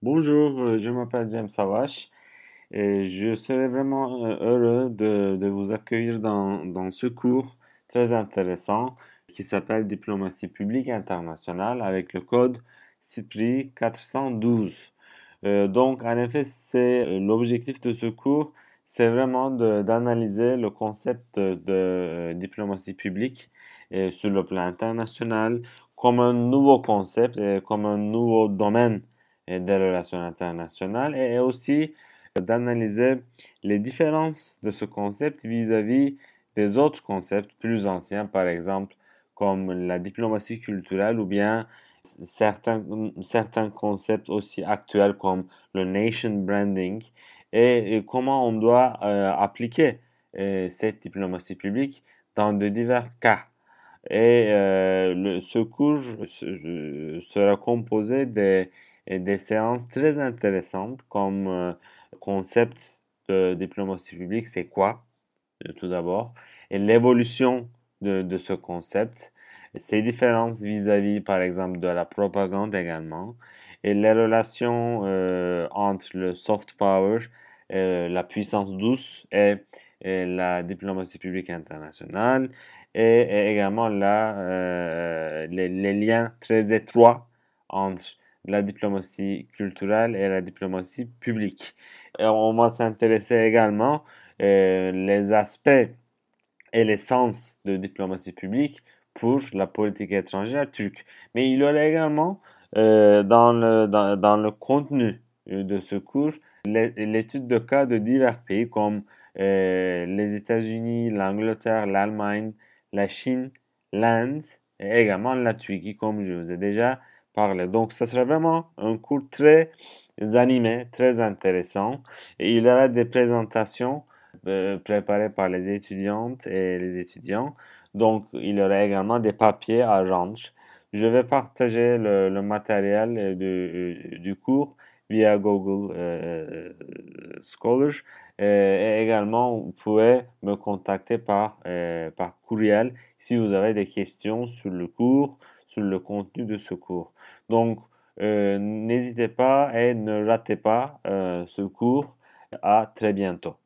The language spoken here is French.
Bonjour, je m'appelle James Savache et je serais vraiment heureux de vous accueillir dans ce cours très intéressant qui s'appelle Diplomatie publique internationale avec le code CIPRI 412. Donc, en effet, c'est l'objectif de ce cours, c'est vraiment d'analyser le concept de diplomatie publique sur le plan international comme un nouveau concept et comme un nouveau domaine des relations internationales et aussi d'analyser les différences de ce concept vis-à-vis des autres concepts plus anciens, par exemple comme la diplomatie culturelle ou bien certains concepts aussi actuels comme le nation branding et comment on doit appliquer cette diplomatie publique dans de divers cas. Et ce cours sera composé des séances très intéressantes comme concept de diplomatie publique, c'est quoi, tout d'abord, et l'évolution de ce concept, ses différences vis-à-vis, par exemple, de la propagande également, et les relations entre le soft power, la puissance douce et la diplomatie publique internationale, et également les liens très étroits entre la diplomatie culturelle et la diplomatie publique. Et on va s'intéresser également les aspects et les sens de diplomatie publique pour la politique étrangère turque. Mais il y aura également dans le contenu de ce cours l'étude de cas de divers pays comme les États-Unis, l'Angleterre, l'Allemagne, la Chine, l'Inde et également la Turquie, comme je vous ai déjà parlé. Donc, ce sera vraiment un cours très animé, très intéressant. Et il y aura des présentations préparées par les étudiantes et les étudiants. Donc, il y aura également des papiers à rendre. Je vais partager le matériel du cours via Google Scholar. Et également, vous pouvez me contacter par courriel si vous avez des questions sur le cours, sur le contenu de ce cours. Donc, n'hésitez pas et ne ratez pas ce cours. À très bientôt.